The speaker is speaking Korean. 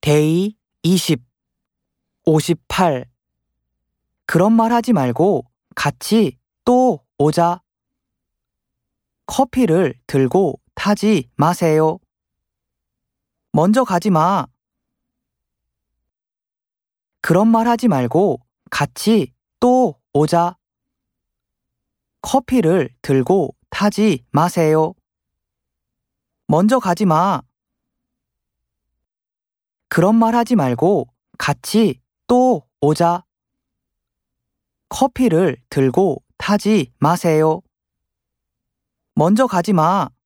데이 20, 58. 그런 말 하지 말고 같이 또 오자. 커피를 들고 타지 마세요. 먼저 가지 마. 그런 말 하지 말고 같이 또 오자. 커피를 들고 타지 마세요. 먼저 가지 마. 그런 말 하지 말고 같이 또 오자. 커피를 들고 타지 마세요. 먼저 가지 마.